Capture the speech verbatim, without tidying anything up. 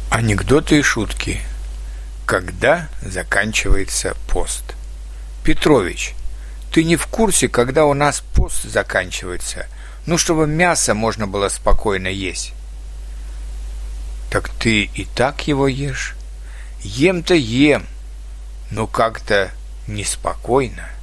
Анекдоты и шутки. Когда заканчивается пост? Петрович, ты не в курсе, когда у нас пост заканчивается? Ну, чтобы мясо можно было спокойно есть. Так ты и так его ешь? Ем-то ем, но как-то неспокойно.